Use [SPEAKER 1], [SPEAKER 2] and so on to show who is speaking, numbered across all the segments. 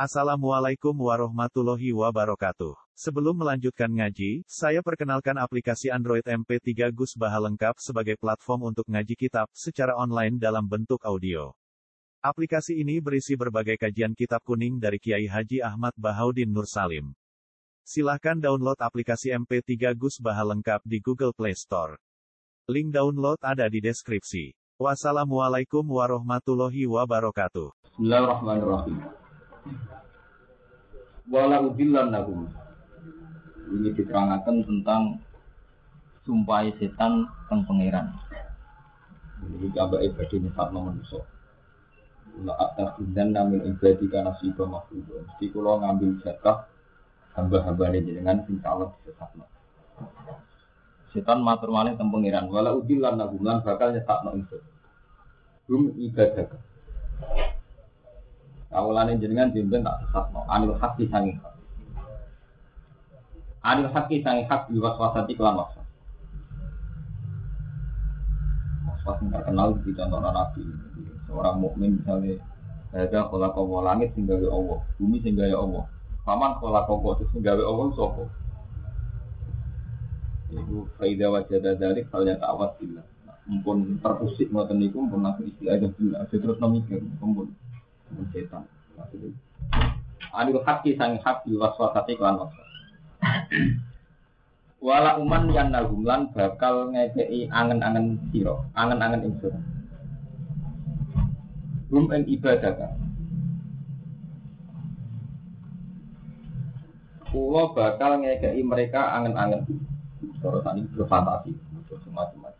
[SPEAKER 1] Assalamualaikum warahmatullahi wabarakatuh. Sebelum melanjutkan ngaji, saya perkenalkan aplikasi Android MP3 Gus Baha lengkap sebagai platform untuk ngaji kitab secara online dalam bentuk audio. Aplikasi ini berisi berbagai kajian kitab kuning dari Kiai Haji Ahmad Bahaudin Nur Salim. Silahkan download aplikasi MP3 Gus Baha lengkap di Google Play Store. Link download ada di deskripsi. Wassalamualaikum warahmatullahi wabarakatuh.
[SPEAKER 2] Bismillahirrahmanirrahim. Wala udillannahum. Ini diterangkan tentang sumpah setan teng pangeran. Ini gambar ibadah nyesatno manusa. La attakhidhan min ibadika nasiba mafruḍa. Mesti kula ngambil jatah hamba-hambane jenengan sing salah disesatno. Setan matur malih teng pangeran, wala udillannahum lan bakal nyesatno ingsun. Ibadah. Awalane jenengan jemben tak sesatno anil haqi sangi hak. Anil haqi sangi hak diwaswasati kelan waswas. Waswas yang terkenal di contoh Nabi. Seorang mukmin misalnya ada khalaqa wa langit sing gawe Allah, bumi sing gawe Allah. Paman khalaqa wa sing gawe Allah sapa? Iku faida wajada dzalik falya ta'awad billah. Mumpun terusik ngoten niku mumpun langsung istilah billah. Terus mikir mumpun setan. Adil haki sang hak diwaswasati kelan waswas. Wala uman yang nagumlan bakal ngekei angen-angen siro, angen-angen ingsun. Rum ing ibadah kan. Kulo bakal ngekei mereka angen-angen. Sorotan ini berfantasi, semacam-macam.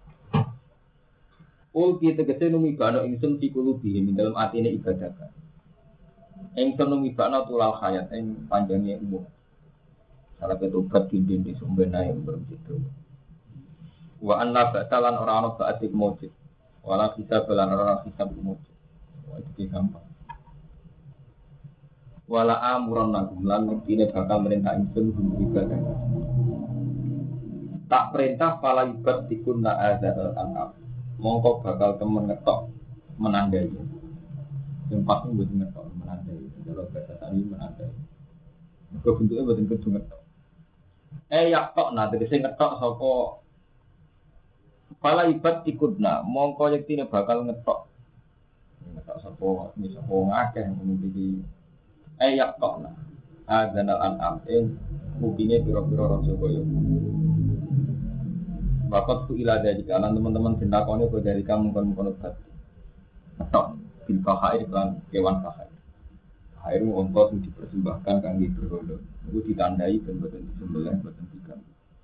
[SPEAKER 2] Ulki tegese numibano ingsun sikulubi dalam atine ibadah kan. Engson numibakna tulal hayat ing panjangnya umur. Salah ketobat dinding di sumbena yang berbegitu. Wa anna ba'talan orang-orang ba'atik mujid. Wala kisah belan orang-orang kisah mujid. Wah itu gampang. Wala amuran nagum lan ini bakal merintah ingsun ibadah. Tak perintah pala ibad dikunna azal al-an'am. Mongko bakal temen ngetok menandai. Yang pasti buat ngetok menandai. Kalau bahasa tadi menandai. Bentuknya buat ngetok. Yak tok tegese ngetok saka pala ibad ikutna mongko yektine bakal ngetok. Ngetok sapa ngakeh memiliki yak tok azanal an'am mungkinnya pira-pira raja kaya. Bakat ku ila dari kanan teman-teman tindakonnya kok dari kamu mungkin ngetok bil fahair kan kewan fahair. Air ongkos yang dipersembahkan kangge berhala. Itu ditandai dan boten disembelih boten dikan.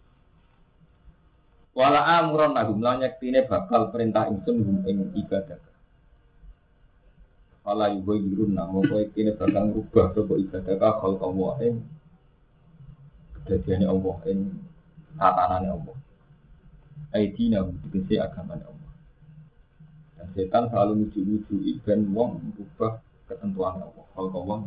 [SPEAKER 2] Wala amuran nahum lan yektine bakal perintah ingsun ing ibadah. Wala yubayyirun namo kowe yektine bakal ngrubah sapa ibadah ka khalqallah ing kedadiane Allah ing tatanane Allah. Aidina tegese agamane Allah. Dan setan selalu nuju-nuju ben wong ngrubah ketentuan Allah. Kalau kau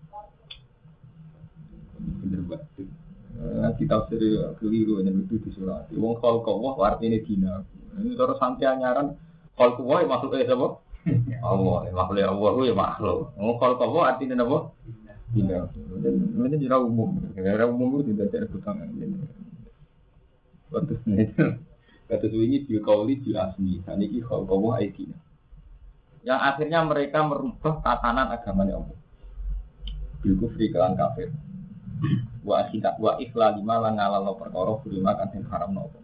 [SPEAKER 2] bener banget. Kita seri keliru yang itu di surat. Wong kalau kau artinya dina. Ini terus santai anyaran. Kalau kau makhluk siapa? Allah. Makhluk Allah itu makhluk. Wong kalau kau artinya apa? Dina. Ini jera umum. Jera umum itu tidak ada kebutuhan. Waktu ini bilkauli bilasmi. Ini kalau kau dina. Yang akhirnya mereka merubah tatanan agamanya Allah. Bil kufri kelan kafir. Wa akhidat wa ikhlal lima ngalalo perkara bulima kan sing haramno apa.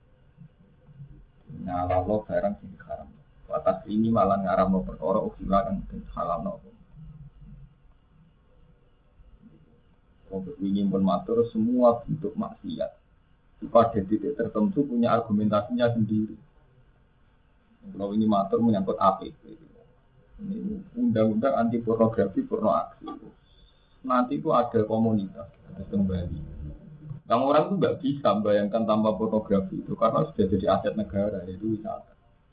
[SPEAKER 2] Ngalalo barang sing haram. Wa taslimi malan ngaramno perkara ukhila kan sing halalno apa. Untuk ingin bermatur semua bentuk maksiat pada titik tertentu punya argumentasinya sendiri. Kalau ini matur menyangkut APP. Ini undang-undang anti pornografi, porno aksi. Nanti itu ada komunitas, ada kembali. Yang orang itu nggak bisa membayangkan tanpa pornografi itu karena sudah jadi aset negara, yaitu wisata.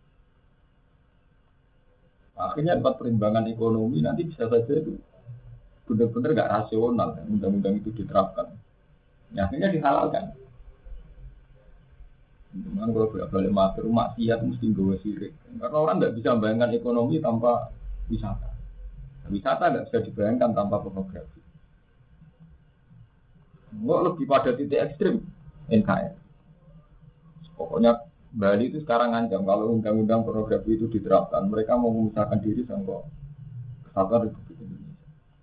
[SPEAKER 2] Akhirnya tempat perimbangan ekonomi nanti bisa saja itu benar-benar nggak rasional. Undang-undang itu diterapkan. Ya, akhirnya dihalalkan. Cuman kalau balik matur maksiat mesti gawe sirik. Karena orang nggak bisa membayangkan ekonomi tanpa wisata. Wisata nggak bisa dibayangkan tanpa pornografi. lebih pada titik ekstrim NKRI. Pokoknya Bali itu sekarang ngancam kalau undang-undang pornografi itu diterapkan, mereka mau memisahkan diri sama Kesatuan Republik Indonesia.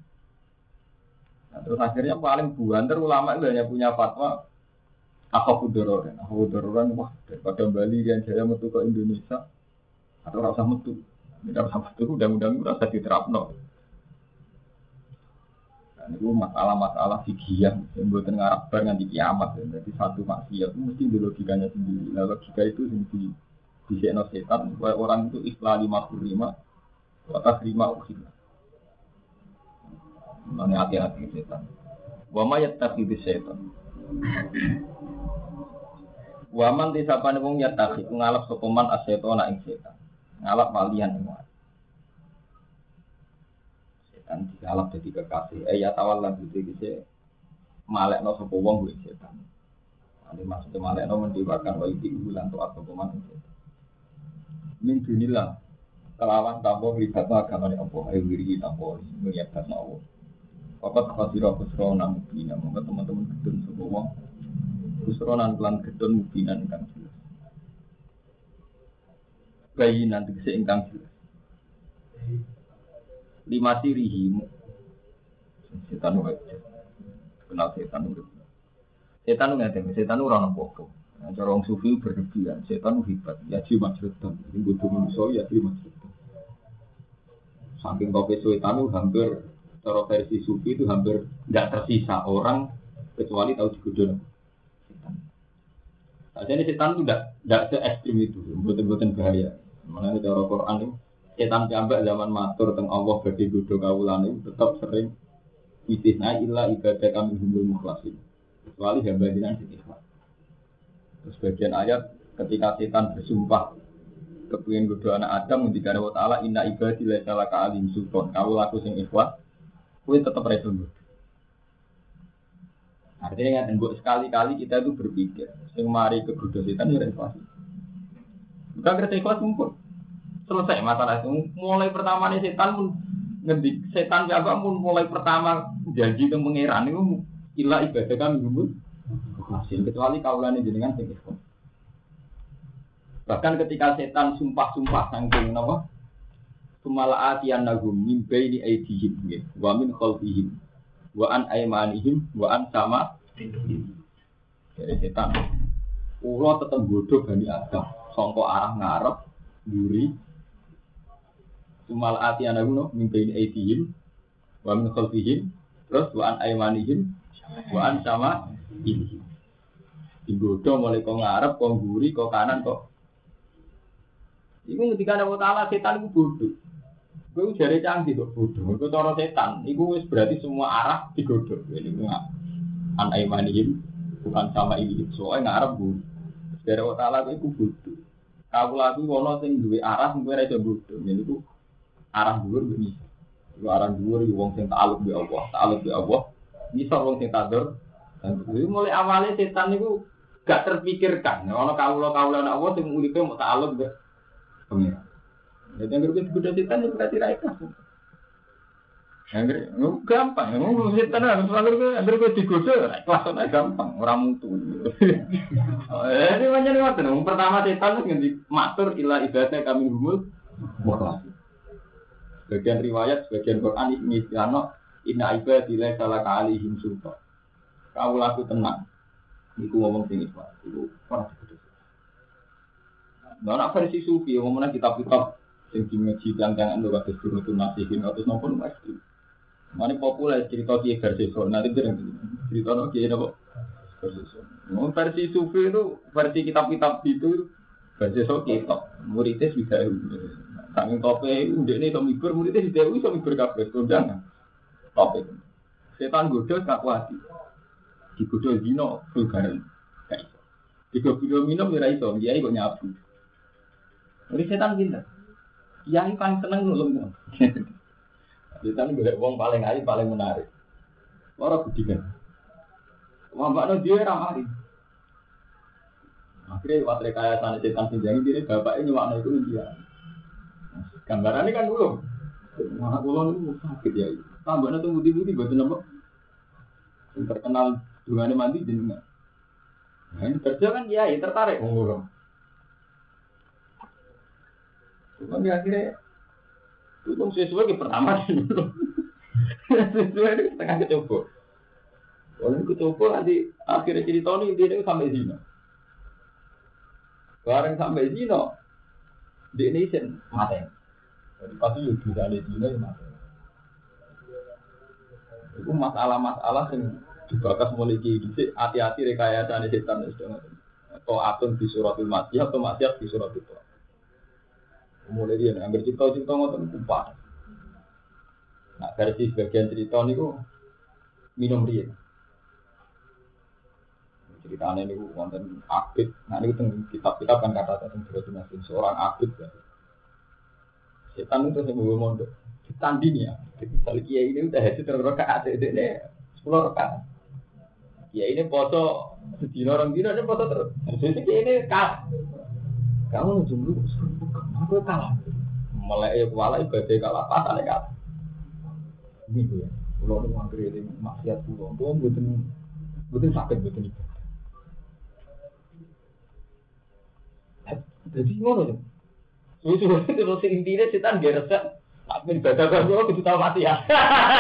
[SPEAKER 2] Nah, terus akhirnya paling buanter ulama itu hanya punya fatwa Akhafudororan, wah daripada Bali yang jaya metu ke Indonesia atau rasa metu, tidak rasa metu undang-undang itu rasa diterapno. Dan itu masalah-masalah fikih yang buatan ngarap bar nganti kiamat. Jadi satu maksiat itu mesti di logikanya sendiri. Nah logika itu sendiri disekno setan supaya orang itu ikhlas 55 atas 5 ukhila. Mana hati-hati setan. Wa ma yattakhidhu setan. Waman disapane wong yatakhi ngalap sapa man asyetona ing setan. Ngalap walian ing setan dialap dadi kekasih. Ya tawalla gitu malekno sapa wong kuwi setan. Ane maksudnya malekno mendewakan wa iki bulan to sapa man ing setan. Min dunillah kelawan tampo libatna agamane apa ayo wiri tampo nglibatna Allah. Papat khasira khusrona mungkin monggo teman-teman gedun sapa wong khusronan lan gedun mubinan ingkang jelas. Bayi nanti kese ingkang jelas. Lima sirihi setan wajib. Kenal setan itu. Setan nggak setan orang apa-apa. Cara orang sufi berlebihan. Setan hebat. Ya jiwa majrutan. Ini butuh manusia ya jiwa majrutan. Saking kopi setan itu hampir cara versi sufi itu hampir tidak tersisa orang kecuali tahu digodon. Jadi setan itu tidak se-ekstrim itu, buatan bahaya. Mengenai cara Quran itu, setan sampai zaman matur tentang Allah bagi godho kawulan itu tetap sering istisna illa ibadah kami humul mukhlasin. Kecuali hamba jinan sing ikhlas. Terus bagian ayat ketika setan bersumpah kepengin godho anak Adam ngendikane wa ta'ala inna ibadi laisa laka alim sultan. Kawulaku sing ikhlas, kuwi tetep ra iso. Artinya kan sekali-kali kita itu berpikir, sing mari ke godho setan ya ikhlas. Bukan kerja ikhlas mumpun. Selesai masalah itu. Mulai pertama nih setan pun ngedik setan jaga pun mulai pertama janji ke pangeran itu ilah ibadah kami mumpun. Kecuali kaulane jenengan sing ikhlas. Bahkan ketika setan sumpah-sumpah saking napa? Sumalaatian nagum min baini aidihim wa min khalfihim wa an aymanihim wa an sama dari setan. Ulo tetap bodoh Bani Adam. Sangka arah ngarep, mburi. Sumal ati ana ngono mimpi aidihim wa min khalfihim terus wa an aymanihim wa an sama ini. Digodho mulai kok ngarep, kok mburi, kok kanan kok. Iku ngendika Allah Taala setan iku bodoh. Kowe jare canggih kok bodoh. Iku cara setan, iku wis berarti semua arah digodho. Ini an aymanihim bukan sama ini. Soale ngarep mburi. Dari Allah Taala iku bodoh. Kawula kuwi ana sing duwe arah sing kowe ora iso bodho. Yen iku arah dhuwur iki. Iku arah dhuwur iki wong sing ta'alluq bi Allah, ta'alluq bi Allah. Iso wong sing tadur. Dan kuwi mulai awale setan niku gak terpikirkan. Ana kawula-kawula ana Allah sing uripe mau ta'alluq be pengira. Jadi yang berbeda setan itu berarti ra ikhlas. Angger gampang, ngomong setan harus selalu digoda, ikhlas ana gampang, ora mutu. Ini macam ngoten. Pertama setan ngendi matur ila ibadah kami humul mukhlas. Bagian riwayat, bagian Quran ini istilahno inna ibadi la salaka alaihim sultan. Kau laku tenang. Niku ngomong sing ikhlas. Iku ora digoda. Nah, versi sufi ngomongna kitab-kitab sing dimensi jangan lho kados Durutun Nasihin atau napa mesti. Mane populer cerita Kiai Garseso, nanti cerita no Kiai napa Garseso. Versi sufi itu versi kitab-kitab itu Garseso kitab. Muridnya sudah saking tope ndekne iso mibur, muridnya sudah iso mibur kabeh kondangan. Tope. Setan godho gak kuat. Digodho dino vulgaren. Gak iso. Digodho minum ora iso, kiai kok nyabu. Murid setan pinter. Kiai paling seneng nulung. Setan golek wong paling ayu paling menarik. Ora budikan. Wambakno dhewe ra mari. Akhire watre kaya sane setan pinjangi dhewe bapake nyuwakno iku dia. Gambarane kan dulu. Mana kula niku sakit ya. Tambahane tunggu budi boten apa. Sing terkenal Dungane mandi jenengan. Nah, ini kerja kan ya tertarik ngurung. Cuma akhirnya itu sesuai ke pertama dulu. Sesuai itu setengah kecoba. Kalau ini kecoba nanti akhirnya cerita ini dia sampai zina. Bareng sampai zina, di Indonesia mati. Jadi pasti juga ada zina yang mati. Itu masalah-masalah yang dibakas mulai gini. Hati-hati rekayasa ini setan atau akun di suratul Makkiyah atau maksiat di suratul Toha. Mulai dia ambil cerita-cerita ngotot kumpah. Nah versi sebagian cerita ini kok minum dia. Ceritanya ini konten abid. Nah ini tentang kitab-kitab kan kata tentang berarti seorang abid. Ya. Setan itu saya mau mondok. Ditanding ya. Misalnya kiai ini udah hasil terrokat ini 10 rokat. Kiai ini foto sedina orang dina ini foto terus. Jadi kiai ini kalah. Kamu jumlah aku kalah. Melek kuala ibadah kalah pasane kalah. Ini ya. Kalau lu nganggur ini maksiat pulau, tuh betul sakit betul itu. Jadi ngono tuh. Susu itu intinya setan dia resep. Tapi ibadah kan gua kudu tahu mati ya.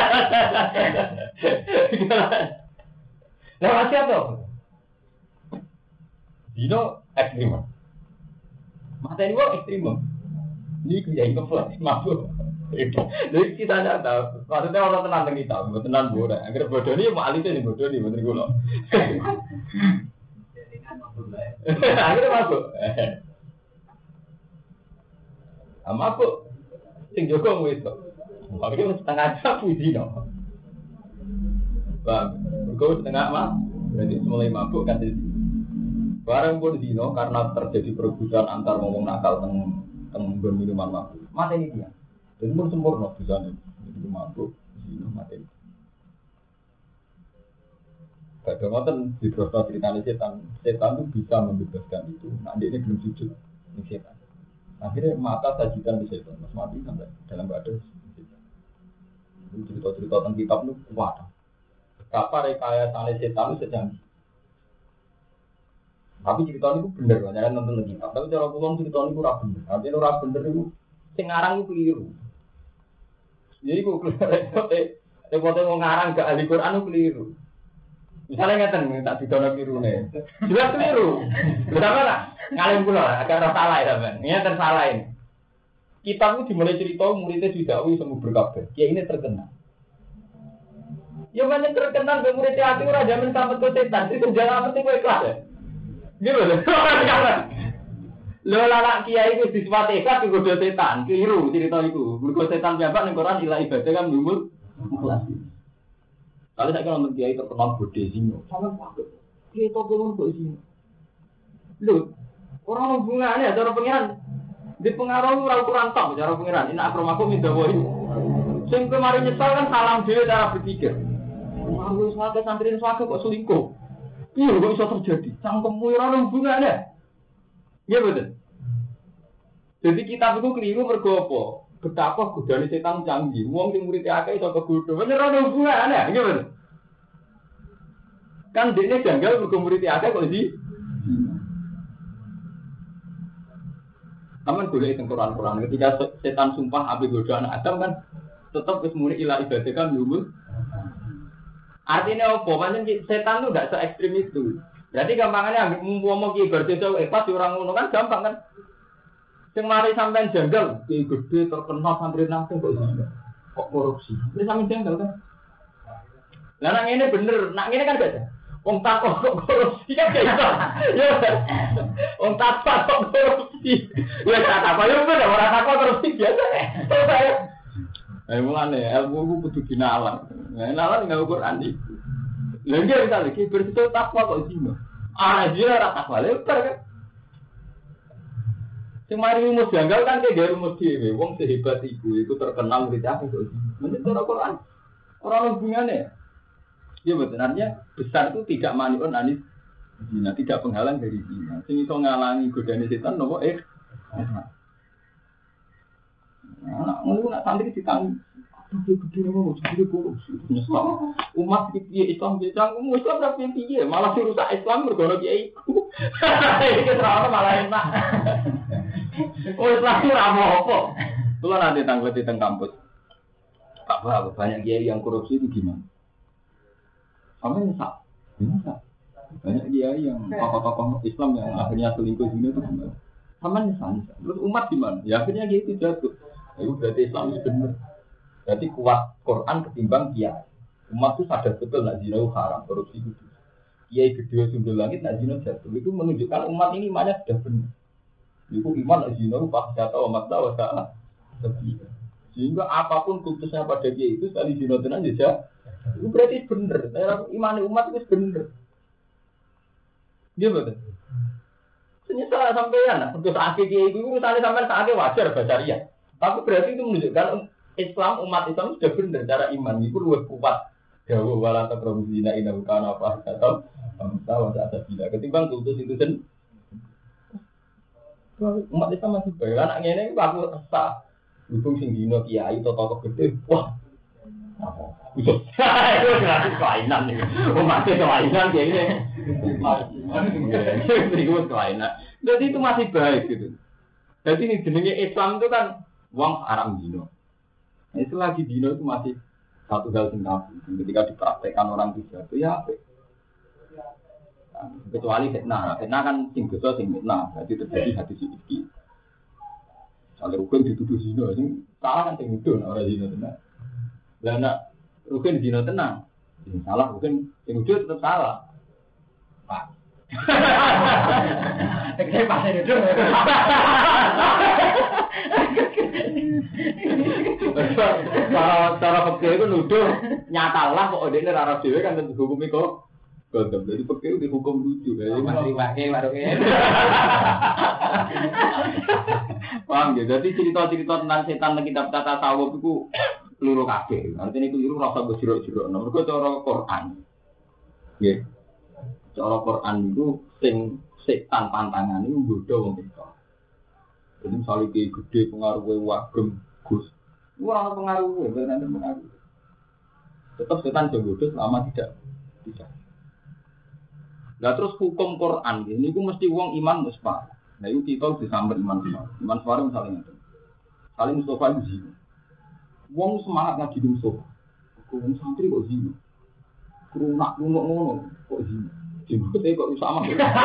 [SPEAKER 2] Nah maksiat tuh. Dino ekstrim. Mata ini gua ekstrim. Ini kerja ngeflash mabuk. Jadi kita tidak tahu. Maksudnya orang tenang dengan kita, tenang bodoh. Agar bodoh ini mau alih ini bodoh ini bener gula. Akhirnya mabuk. Mabuk. Sing Joko itu. Akhirnya setengah jam puji no. Bang, berkau setengah mah. Berarti mulai mabuk kan jadi. Barang pun dino karena terjadi perebutan antar ngomong nakal tentang minuman mabuk. Mati ini dia. Dan pun sempurna bisa nih, jadi mabuk, zina mati. Kadang-kadang di proses ceritanya setan itu bisa membebaskan itu. Nah dia ini belum jujur, ini setan. Akhirnya mata sajikan di setan, mas mati sampai dalam badan. Cerita-cerita tentang kitab itu kuat. Betapa rekayasa setan itu sejanji. Tapi cerita itu benar, jangan nonton kitab. Tapi cara pulang cerita itu rapi benar. Artinya itu rapi benar itu, sengarang itu keliru. Jadi kok repotnya mau ngarang ke ahli Quran itu keliru. Misalnya ngeten tak didono keliru nih. Jelas keliru. Berapa lah? Ngalim pula agak salah ya teman. Ini tersalah ini. Kitab itu dimulai cerita muridnya didakwi semua berkabeh. Ya ini terkenal. Ya banyak terkenal ke muridnya hati ora jamin sampai ke setan. Itu jangan mesti kowe ikhlas ya. Gitu loh. Lho anak kiai itu disifati ikhlas digodho setan, keliru cerita iku. Mergo setan piyambak ning Quran ilah ibadah kan nyumur ikhlas. Kalau saya nonton kiai terkenal bodhe zina, sampe pakai. Kiai to belum kok zina. Lho, orang hubungannya cara pengiran di pengaruh ora kurang tok cara pengiran. Ini akramaku mindawahi. Sing kemarin nyesal kan salam dhewe cara berpikir. Aku swake santri swake kok selingkuh. Iya kok bisa terjadi? Cangkemmu ora hubungannya. Iya betul. Jadi kitab itu keliru mergo apa? Betapa godane setan canggih. Wong sing murid akeh iso kegodho. Bener ora hubungane, iya betul. Kan dene janggal mergo murid akeh kok di. Aman golek teng Quran ketika setan sumpah ape godho anak Adam kan tetap wis muni ila ibadah kan nyuwun. Artinya apa? Pancen setan itu enggak se ekstrim itu. Berarti gampangannya ambil ngomong ki berdosa pas orang ngono kan gampang kan. Sing mari sampean janggal, ki gede terkenal santri nang kok korupsi. Ini sampean janggal kan. Lah nang ngene bener, nang ngene kan gak ada. Wong takok kok korupsi kan gak iso. Ya. Wong takok kok korupsi. Ya tak apa yo bener ora takok korupsi biasa. Mulane ilmu ku kudu dinalar. Nalar enggak Quran iki. Lha nggih kita lagi bersih takwa kok zina. Dia ora takwa lebar kan. Sing mari rumus janggal kan ke rumus dhewe. Wong sehebat iku terkenal murid aku kok zina. Menurut Quran ora hubungannya. Ya betul, artinya besar itu tidak maniun anis zina, tidak penghalang dari zina. Sing iso ngalangi godane setan nopo Nah, ngono nak santri ditanggung. Tapi gede mau jadi korupsi. Nyesal. Umat piye Islam piye cangkem Islam ra piye malah dirusak Islam mergo ana kiai iku. Iki terus malah enak. Oh Islam ora apa-apa. Kula nanti tangguti teng kampus. Pak Bah, banyak kiai yang korupsi itu gimana? Sampai nyesal. Nyesal. Banyak kiai yang tokoh-tokoh Islam yang akhirnya selingkuh sini itu gimana? Sama nyesal. Terus umat gimana? Ya akhirnya gitu jatuh. Itu berarti Islam itu benar. Berarti kuat Quran ketimbang kiai. Umat itu sadar betul nak zina itu haram, korupsi itu. Kiai gede sumber langit nak zina jatuh. Itu menunjukkan umat ini imannya sudah benar. Itu iman nak zina itu pasti tahu umat tahu salah. Sehingga apapun putusnya pada kiai itu sekali zina tenan saja. Itu berarti benar. Iman umat itu benar. Dia betul. Ternyata sampean, untuk akhir kiai itu misalnya sampean saatnya wajar bacaria. Tapi berarti itu menunjukkan Islam umat Islam sudah benar cara iman itu lebih kuat. Jauh wala taqrabu zina innahu kana fahsyatan wa sa'a bila ketimbang putus itu kan. Umat Islam masih baik. Anak ngene iki aku resah. Untung sing dino kiai tokoh gede. Wah. Itu kelainan nih. Umat kelainan kayak ini. Itu kelainan. Jadi itu masih baik gitu. Jadi ini jenenge Islam itu kan uang haram dino. Itu lagi dino itu masih satu hal yang tabu. Ketika dipraktekkan orang tiga itu ya apa? Kecuali fitnah. Fitnah kan sing dosa sing fitnah. Jadi terjadi hadis iki. Kalau rukun dituduh dino, sing salah kan sing nuduh orang dino tenang. Lah nak rukun dino tenang. Sing salah rukun sing nuduh tetap salah. Pak. Teknik pasir itu. Cara fakir itu nuduh nyatalah kok dia rara dewe kan tentu hukum itu gondom. Jadi fakir itu dihukum lucu. Jadi masih pakai warungnya. Paham ya? Jadi cerita-cerita tentang setan di kitab tata tasawuf itu luru kabeh. Artinya itu luru rasa berjerok-jerok. Nomor itu cara Quran. Ya. Cara Quran itu sing setan pantangan itu bodoh wong itu. Jadi misalnya kayak gede pengaruhnya wagem gus, orang pengaruhnya benar-benar pengaruh. Tetap setan jodoh selama tidak. Nah terus hukum Quran ini, itu mesti uang iman musfar. Nah itu kita disamber iman musfar. Iman musfar misalnya itu, saling Mustafa itu zina. Uang semangat ngaji di Mustafa. Uang santri kok zina. Kerunak ngono kok zina. Jemputnya kok sama.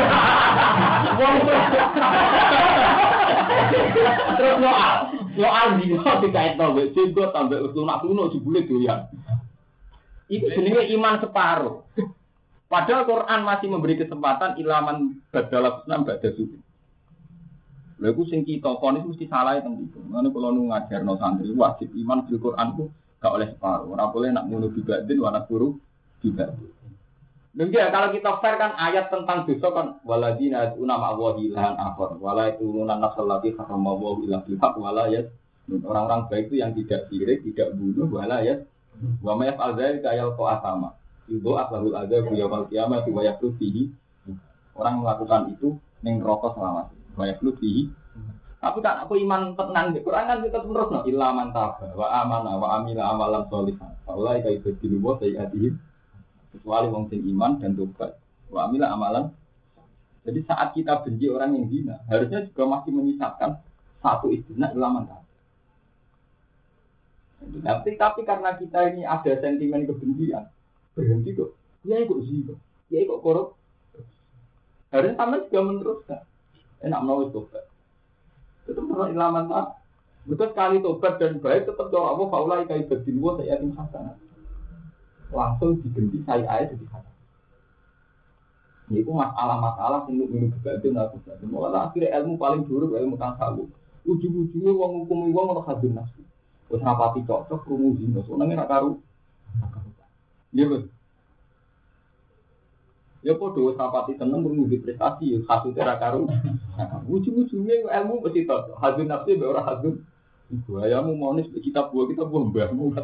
[SPEAKER 2] Terus soal zina dikait tambah jenggot tambah lunak jebule doyan. Itu jenenge iman separuh. Padahal Quran masih memberi kesempatan ilaman badal Islam badal suci. Lha iku sing kita fonis mesti salah teng iku. Ngono kula nu ngajarno santri wajib iman bil Quran ku gak oleh separuh. Ora boleh nak ngono dibadin wana guru dibadin. Demikian kalau kita fair kan ayat tentang dosa kan waladina una ma'wahi ilahan akhar wala yaquluna nafsal lati harrama Allahu illa bil haqq wala yas orang-orang baik itu yang tidak sirik, tidak bunuh wala yas wa ma yaf'al dzalika yalqa asama. Itu aslahul adzab yaumil qiyamah wa yaqulu fihi. Orang melakukan itu ning neraka selama wa yaqulu fihi. Tapi kan aku iman tenan di Quran kan kita terus no illa man taba wa amana wa amila amalan sholihan. Wallahi kaitu diluwa sayyatihim. Kecuali wong sing iman dan tobat. Wa amila amalan. Jadi saat kita benci orang yang zina, harusnya juga masih menyisakan satu istilah ilaman tadi. Tapi karena kita ini ada sentimen kebencian, berhenti kok. Ya kok zina, ya kok korup. Harusnya sama juga meneruskan. Enak menulis tobat. Tetap perlu ilaman tadi. Betul sekali tobat dan baik tetap doa Allah faulai kaibatin wa sayyatin hasanah. Langsung diganti saya ayat jadi haram. Ini itu masalah-masalah yang minum kebatin atau tidak. Malah akhirnya ilmu paling buruk ilmu tasawuf. Ujung-ujungnya uang hukum uang atau hadun nafsu. Terus rapati cocok rumusin. Soalnya nggak karu. Iya betul. Ya podo rapati tenang rumusin prestasi. Hasilnya nggak karu. Ujung-ujungnya ilmu mesti cocok. Hadun nafsu orang hadun. Buayamu monis kita buah mbahmu.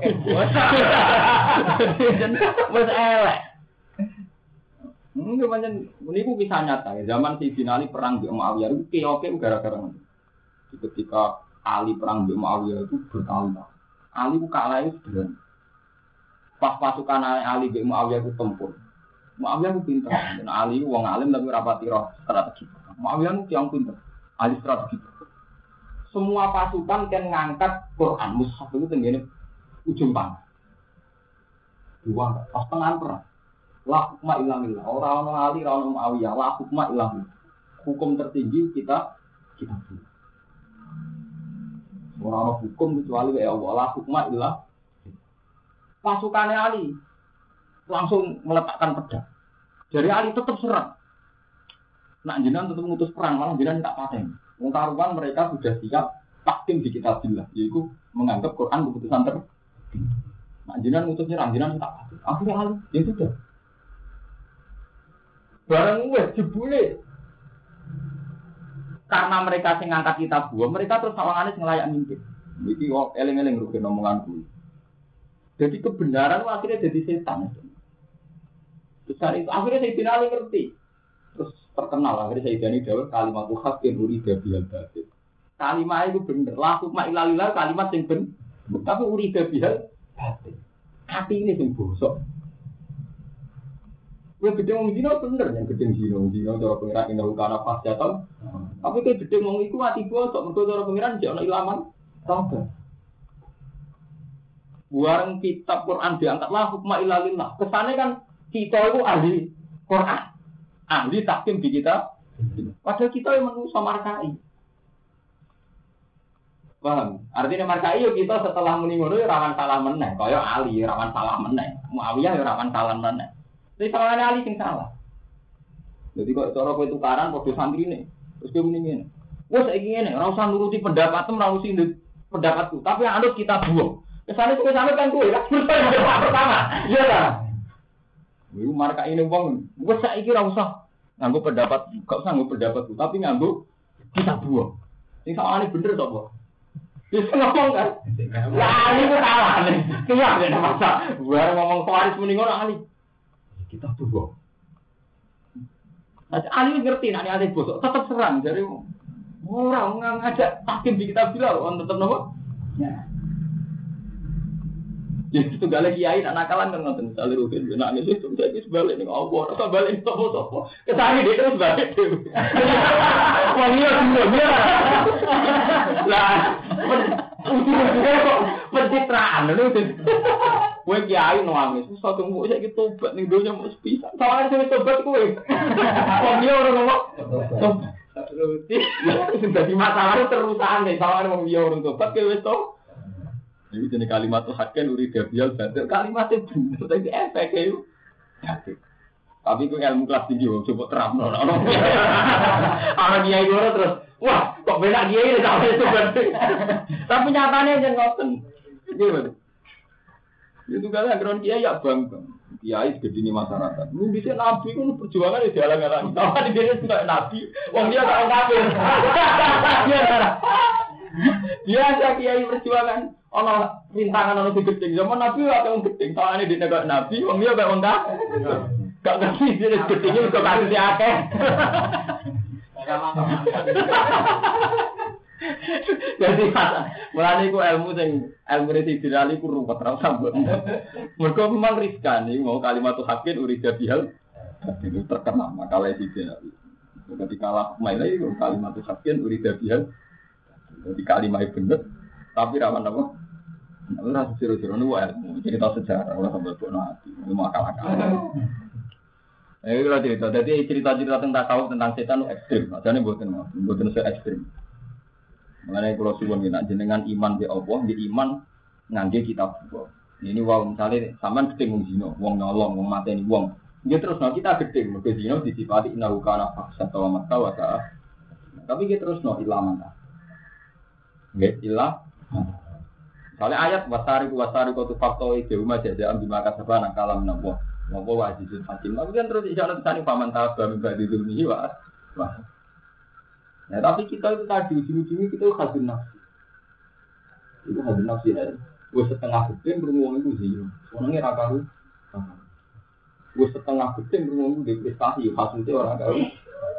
[SPEAKER 2] Wes elek. Mungkin pancen niku kisah nyata ya. Zaman Sayyidina Ali perang di Muawiyah itu keoke gara-gara ketika Ali perang di Muawiyah itu berkali-kali. Ali ku kalah itu bener. Pas pasukan Ali be Muawiyah ku tempur. Muawiyah ku pinter. Ali wong alim tapi rapati roh strategi. Muawiyah ku yang pinter. Ali strategi. Semua pasukan kan ngangkat Quran mushaf itu tenggene ujung panah. Dua pas tengah perang. La hukma illa billah. Ora ono Ali, ora ono Muawiyah. La hukma illa billah. Hukum tertinggi kita buat. Ora ono hukum kecuali ya Allah. La hukma illa pasukannya Ali langsung meletakkan pedang. Dari Ali tetap serang. Nak jenengan tetap ngutus perang, malah jenengan tak paten. Wong karuan mereka sudah siap tahkim di kitabillah, yaitu menganggap Quran keputusan tertinggi. Nak jenengan ngutus nyerang, jenengan tak paten. Akhirnya Ali, ya sudah. Barang wes jebule. Karena mereka sing ngangkat kitab gua, mereka terus sawangane sing layak mimpin. Iki eling-eling rugi omonganku. Jadi kebenaran akhirnya jadi setan. Terus hari itu akhirnya Sayyidina Ali ngerti. Terus terkenal akhirnya Sayyidina Ali jawab kalimat haqqin urida bil batil. Kalimat itu bener. La hukma illa lillah kalimat yang bener. Tapi urida bil batil. Hati ini sing bosok. Kowe gedhe wong dina bener yang gedhe dina cara pengiran indah kana pas jatuh. Tapi kowe gedhe wong iku ati bosok mergo cara pengiran jek ana ilaman sabar. Buang kitab Quran diangkatlah hukma illa lillah. Kesannya kan kita itu ahli Quran, ahli tahkim di kita. Padahal kita yang manusia markai. Paham? Artinya markai yo kita setelah muni ngono rawan salah meneh. Kaya Ali rawan salah meneh. Muawiyah yo rawan salah meneh. Tapi salahane Ali sing salah. Jadi kok cara kowe tukaran padha santrine. Terus kowe muni ngene. Wes saiki ngene, ora usah nuruti pendapatmu, ora usah pendapatku, tapi anut kita buang. Kesana kan gue lah, pertama, iya lah. Gue marka ini bang, gue saiki ora usah nganggo pendapat, gak usah nganggo pendapatku, tapi nganggo kita buang. Ini sama ini bener toh, Bang? Bisa ngomong kan? Lah ini gue salah nih, keluar dari masa. Gue ngomong Khawarij mending orang Ali, kita buang. Ali ngerti, nanti Ali bosok, tetap serang. Jadi orang ngajak tahkim di kita bilang, orang tetap nopo. Ya. Ya itu gak lagi kiai nak nakalan kan ngoten misale rugen nangis itu saiki sebalik ning Allah ora balik sapa-sapa kesane dia terus balik wong iya dia lah ujung-ujungnya kok pencitraan lho kowe kiai nangis iso tunggu saiki tobat ning donya mau sepisan soalnya sing tobat kowe wong iya ora ngomong terus dadi masalah terusan nek soalnya wong iya ora tobat kowe wis to. Jadi jenis kalimat itu hakken urida bial batil kalimatnya bener tapi efeknya itu tapi itu ilmu kelas tinggi coba terang orang kiai gue terus wah kok beda kiai ini sampai itu berarti tapi nyatanya aja ngoten gimana itu kan akhirnya kiai ya bangga kiai segede ini masyarakat lu bisa nabi kan perjuangan di jalan-jalan kalau di dia juga nabi wong dia tak kafir dia ada kiai perjuangan ono rintangan ono digedeng zaman nabi ora wong gedeng soalane di negara nabi wong liya kok wong gak ngerti dia gedenge kok kasih akeh jadi mulane iku ilmu Sayyidina Ali ku ruwet ra sambut mergo memang riskan iki mau kalimat haqqin urida bihal itu terkenal makalah Sayyidina Ali ketika kalah maila itu kalimat haqqin urida bihal jadi kalimat bener tapi rawan apa? Ora siro-siro nu wae cerita sejarah ora sampe bono ati. Ilmu akal-akal. Kalau cerita, jadi cerita-cerita tentang tasawuf tentang setan itu ekstrim. Adane mboten se ekstrim. Mengenai kula suwun yen jenengan iman be Allah, di iman ngangge kitab Allah. Ini wae misale sampean gedhe wong zina, wong nyolong, wong mateni wong. Nggih terus kita gedhe mergo zina disifati innahu kana fahsyan wa mata. Tapi kita terus ilaman. Nggih ilah. Soalnya ayat wasari tu fakto itu rumah jajaan di maka sebana kalam nabo wajibul hakim. Tapi kan terus isyarat tadi paman tabah mimba di dunia wah. Nah tapi kita itu tadi ujung-ujungnya kita hadun nafsi. Itu hadun nafsi ya. Gue setengah gedeng beruang itu sih. Orangnya rakaru. Gue setengah gedeng beruang itu depresi. Hasilnya orang karu.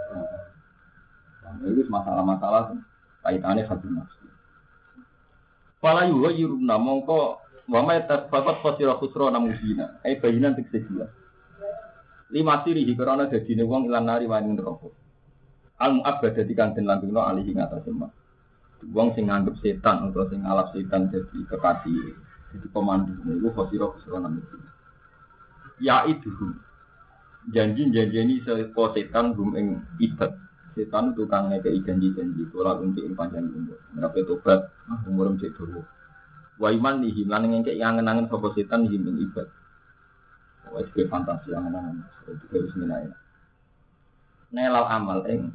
[SPEAKER 2] Nah itu masalah-masalah kaitannya hadun nafsi. Fala yughayiruna mongko wa ma tasfaqat fasira khusra namudina. Bayinan tekse jelas. Lima sirihi karena dadine wong ilan nari wani neraka. Al mu'abbad dadi kang den langgengno alihi ngatasé mak. Wong sing nganggep setan utawa sing ngalap setan dadi kekasih, dadi pemandu niku fasira khusra namudina. Ya itu janji-janjeni sepo setan gum ing ibad. Setan tukang ngekei janji-janji ora untuk ing panjang umur. Ngrape tobat, umur cek dawa. Wa iman nihi lan ngekei angen-angen sapa setan ing ibad. Wah, itu fantasi angen-angen. Itu bismillah. Nelal amal ing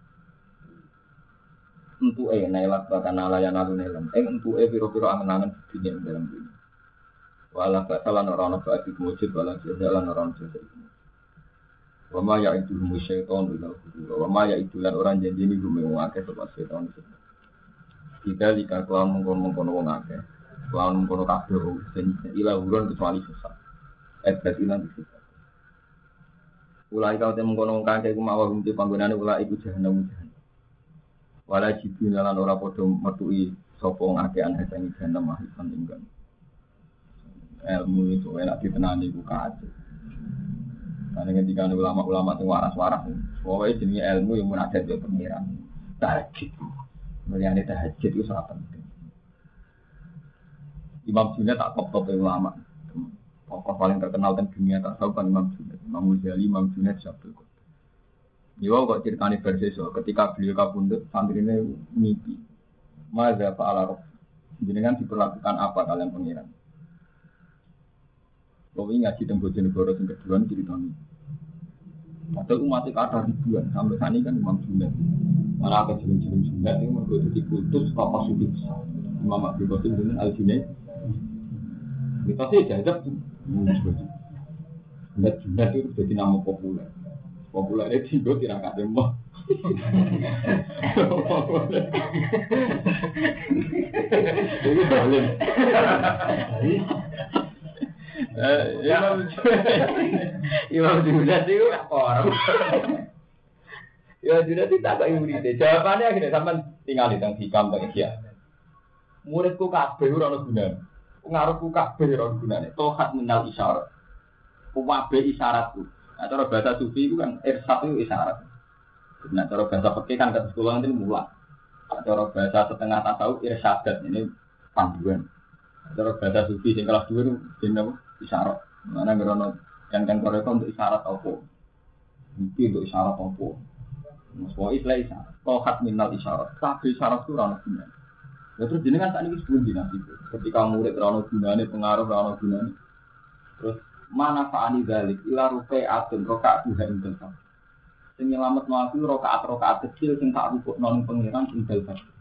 [SPEAKER 2] entuke nelak bakal layan alun nelem. Ing entuke pira-pira angen-angen dunya dalam dunya. Wala batalan ora ana bagi mujud wala jalan ora ana jalan. Wa ma ya'idu musyaiton ila hudura. Wa ma ya'idu lan ora janjeni gume wong akeh sapa setan itu. Kita jika kelawan mengkono-mengkono wong akeh, kelawan mengkono kabeh ila hudura kecuali sesat. Ilan itu. Ulai kau temu mengkono wong akeh ku mawa hum panggonane ulai iku jahanam. Wala jibun lan ora padha metuki sapa wong akeh ana sing jahanam mahifan ingkang. Ilmu itu enak ditenani ku kaje. Karena ketika ulama-ulama sing waras-waras, pokoke jenenge ilmu yang munajat yo pengiran. Tahajud. Mulyane tahajud itu sangat penting. Imam Junaid tak top-top ulama. Tokoh paling terkenal di dunia tak tahu kan Imam Junaid. Imam Ghazali, Imam Junaid Syabul Quran. Yo kok ceritane berseso ketika beliau kapundhut santrine mimpi. Maza fa'ala rabb. Jenengan diperlakukan apa kalian pengiran? Kalau ngaji tentang Bojonegoro yang kedua ceritanya. Padahal umatnya kata ribuan sampai saat ini kan Imam Junaid. Mana apa jelung-jelung Junaid ini mereka jadi kultus tokoh sufi besar. Imam Abdul Qasim dengan Al-Junaid. Kita sih jajab tuh. Junaid itu jadi nama populer. Populernya tinggal tidak ada mah. Ini boleh. Imam Junaid itu orang. Imam Junaid itu tak kayak murid. Jawabannya akhirnya sampai tinggal di tengah hikam tengah dia. Muridku kabeh ora ono gunane. Pengaruhku kabeh ora ono gunane. Tohat minal isyarat. Kuwabe isyaratku. Nah, cara bahasa sufi itu kan irsat itu isyarat. Nah, cara bahasa fikih kan ke sekolah nanti mulak. Cara bahasa setengah tasawuf irsyadat ini panduan. Cara bahasa sufi sing kelas 2 itu jenenge isyarat. Mana ngerono kan korek untuk isyarat apa? Mungkin untuk isyarat apa? Semua istilah isyarat. Tohat minal isyarat. Kabeh isyarat itu ora ono gunane. Ya terus jenengan sak niki sebelum dinasti. Ketika murid ora ono gunane, pengaruh ora ono gunane. Terus mana fa'ani dzalik ila ruqa'atun rakaat duha indal fajr. Sing nyelametno aku rakaat kecil sing tak rukukno ning pangeran indal fajr.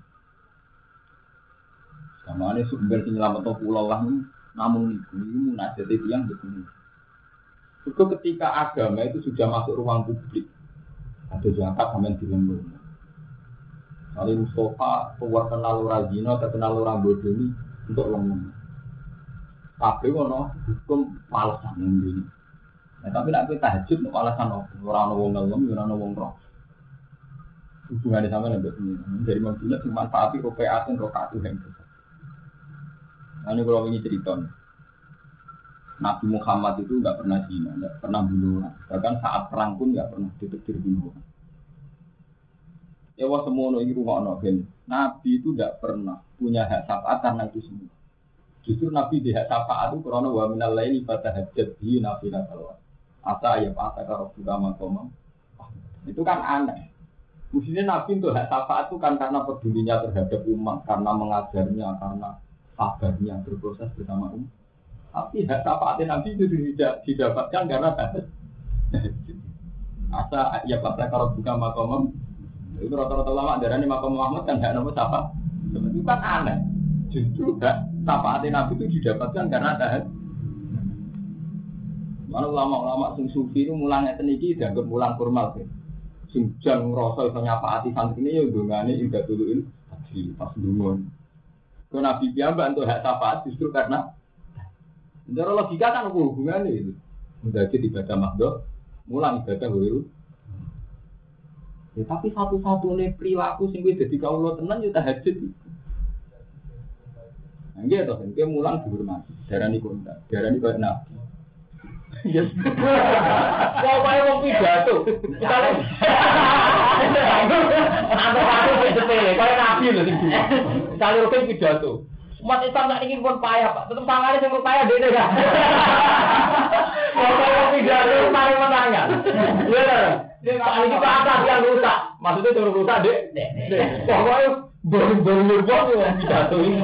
[SPEAKER 2] Samane sumber sing nyelametno kula lah namun iku munajat tiyang betul. Juga ketika agama itu sudah masuk ruang publik. Ada zakat sampean dilembur. Kali Mustafa keluar kenal ora zina, terkenal ora bodoni untuk lembur. Kabeh ono hukum alasan ngene. Nah, tapi nek tahajud nek alasan ora ono wong ngelem, ora ono wong roh. Hubungane sama nek begini. Dari manfaat manfaati rokaatun rokaat yang besar. Ini kalau ini cerita. Nabi Muhammad itu enggak pernah zina, enggak pernah bunuh. Bahkan saat perang pun enggak pernah ditetir bunuh. Ya wah semono iki rumakno ben. Nabi itu enggak pernah punya hak syafaat karena itu semua. Justru Nabi di hak syafaat itu karena wa minal laili fatahajjat bi nafila salawat. Asa ya asa karo agama komam. Itu kan aneh. Mestinya Nabi untuk hak syafaat itu kan karena pedulinya terhadap umat, karena mengajarnya, karena sabarnya berproses bersama umat. Tapi hak syafaatnya Nabi itu tidak didapatkan karena tahajud. Asa ya asa karo agama komam. Itu rata-rata ulama darahnya Makam Muhammad kan hak nama syafaat. Itu kan aneh. Justru hak syafaat Nabi itu didapatkan karena tahajud. Mana ulama-ulama sing sufi itu mulangnya teniki dianggap mulang formal sih. Sing jan ngrasa iso nyafaati santrine ya ndongane indah duluin di pas dungon. Kok Nabi piyambak untuk hak syafaat justru karena cara logika kan hubungannya itu. Menjadi ibadah makdoh, mulang ibadah wiru. Ya, tapi satu-satunya perilaku sing kuwi dadi kawula tenan ya tahajud. Nggih to, engke mulang dihormati. Darani kontak, darani koyo nabi. Yes. Pokoke wong pidato. Aku sepele, koyo nabi lho sing dulu. Salur ke pidato. Umat Islam sak niki pun payah, Pak. Tetep sangane sing payah dene ya. Pokoke wong pidato paling menangan. Iya. Ini Pak Atas yang rusak. Maksudnya suruh rusak, Dek. Pokoknya baru-baru yang pidato ini.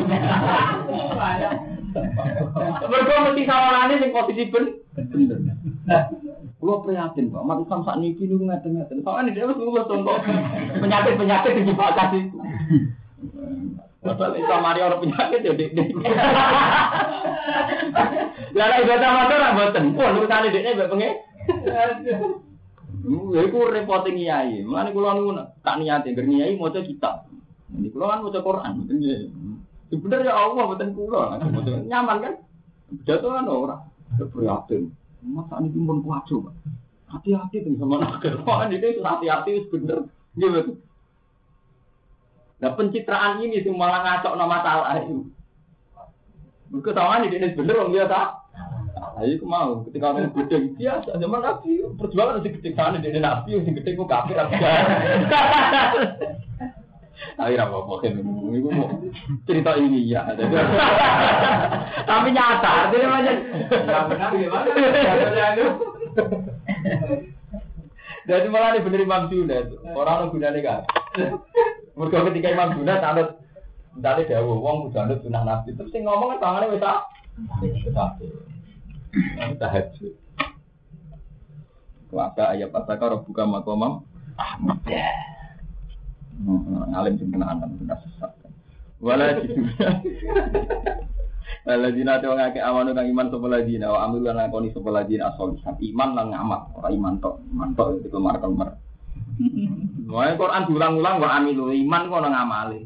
[SPEAKER 2] Mereka mesti sawangannya yang posisi bener. Kalau prihatin, Pak. Umat Islam saat ini ngeten-ngeten. Soalnya dia harus lulus contoh penyakit-penyakit yang dibakar itu. Padahal Islam hari orang penyakit ya, Dek. Lalu ibadah mata orang boten. Wah, urusan Deknya mbak pengen. Iku repoting kiai. Mulane kula niku tak niate ngger kiai maca kitab. Ini kula kan maca Quran. Bener ya Allah mboten kula. Nyaman kan? Pidato kan ora. Prihatin. Masa niki pun kuwajo, Pak. Hati-hati dengan sama nakal. Wah, ini hati-hati wis bener. Nggih, betul. Nah, pencitraan ini sing malah ngacokno masalah itu. Mergo tawane dene bener wong biasa. Ayo mau ketika orang gede biasa zaman Nabi perjuangan masih gede sana dari Nabi yang gede kok kafir apa? Ayo apa kan? Ibu mau cerita ini ya. Tapi nyata, jadi macam. Benar gimana? Jadi malah ini bener Imam Junaid. Orang gunane kan. Mergo ketika Imam Junaid anut ndale dawuh wong kudu anut sunah Nabi. Terus sing ngomong kan tangane wis tak. Tahajud. Kuasa ayat pasaka buka makomam Ahmad. Ngalim sing kenaan benar sesat. Wala jidunya. Waladina te wong akeh amanu kang iman sapa ladina wa amil lan lakoni sapa ladina asolihan iman lan ngamal ora iman tok itu kemar-kemar. Wae Quran diulang-ulang wa amilu iman kok nang ngamale.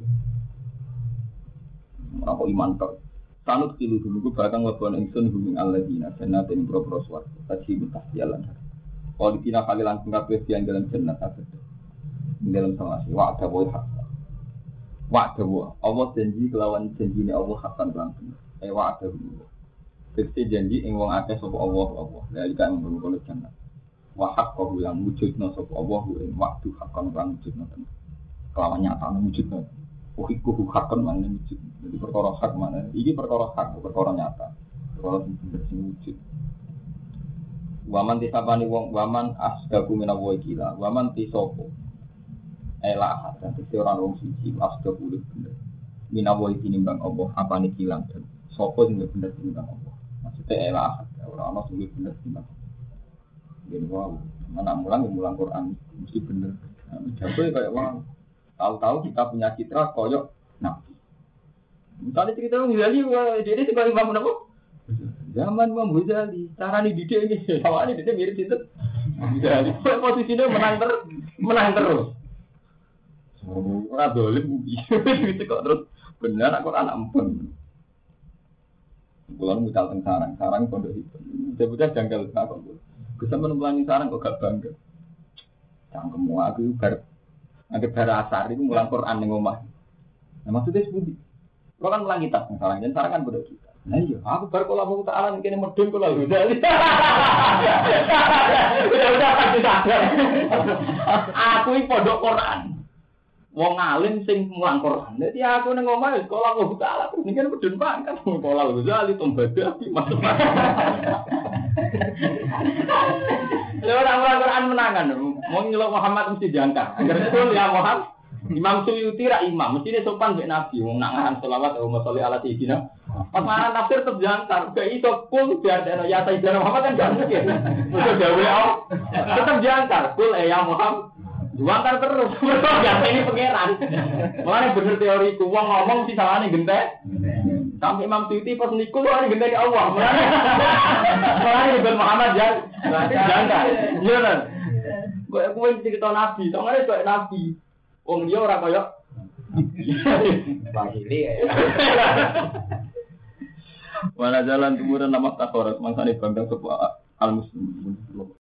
[SPEAKER 2] Ora kok iman tok. Sanut kilu dulu bakal ngelakon ingsun hubung alladzina jannatin pro-pro swarga taji mutajalan. Kalau dikira kali langsung kabeh yang dalam jannat kabeh. Dalam sama si wa'da wa hak. Wa'da wa Allah janji kelawan janjine Allah hakan langsung. Wa'da wa. Dadi janji ing wong akeh sapa Allah. Lha iki kan ngono jannat. Wa haqqahu yang wujudna sapa Allah ing waktu hakan lan wujudna. Kelawan nyatane wujudna. Uhiku hakon mana wujud. Jadi perkara hak mana? Ini perkara hak, perkara nyata. Perkara sing wujud. Waman tisapani wong, waman asdaku minawo gila. Waman tisopo. Elah, dan orang wong siji asdaku lebih bener. Minawo tinimbang Allah apane kilang dan sopo sing bener tinimbang Allah. Maksudnya elah, orang sing bener tinimbang. Yen wae, mana mulang Quran mesti bener. Jago kayak wong tahu-tahu kita punya citra koyok Nabi. Misalnya cerita Ghazali, dia sebagai Imam Nawawi. Zaman Imam Ghazali, cara nih didik ini, sama ini dia mirip itu. Ghazali, posisinya menang terus. Orang dolim, gitu kok terus benar aku anak empun. Bulan mutal teng sarang pondok itu. Sebutnya janggal kok. Bisa menemukan sarang kok gak bangga. Cangkemmu aku bar Angger bara asar itu mulang Quran ning omah. Nah maksudnya sepundi? Kalau kan mulang kitab misalnya, dan sarangan pada kita. Nah iya, aku bar kula mau ta'ala kene medun kula lho. Udah pasti sadar. Aku iki pondok Quran. Wong alim sing mulang Quran. Dadi aku ning omah wis sekolah kok ta'ala terus niki medun pangkat sekolah lho. Zali tombada masuk. Orang Quran menangan, mau nyelok Muhammad mesti diangkat. Agar betul ya Muhammad, Imam Suyuti ra imam, mesti dia sopan mbek Nabi. Wong nak ngaran selawat Allahumma sholli ala sayyidina. Pas mana tafsir tetep diangkat. Gak iso kul biar dene ya sayyidina Muhammad kan gak mungkin. Mesti gawe Allah. Tetep diangkat. Kul ya Muhammad. Diangkat terus. Gak ini pangeran. Mulane bener teoriku wong ngomong si salahane gentek. Sampai Imam Suyuti pas niku lho gentek Allah. Mulane ibn Muhammad jangan. Iya kan? Kowe cerita Nabi, tongane koyo Nabi. Wong dia ora koyo Bahili ya. Wala jalan tumuran nama takorat mangsane bangga sapa al muslim.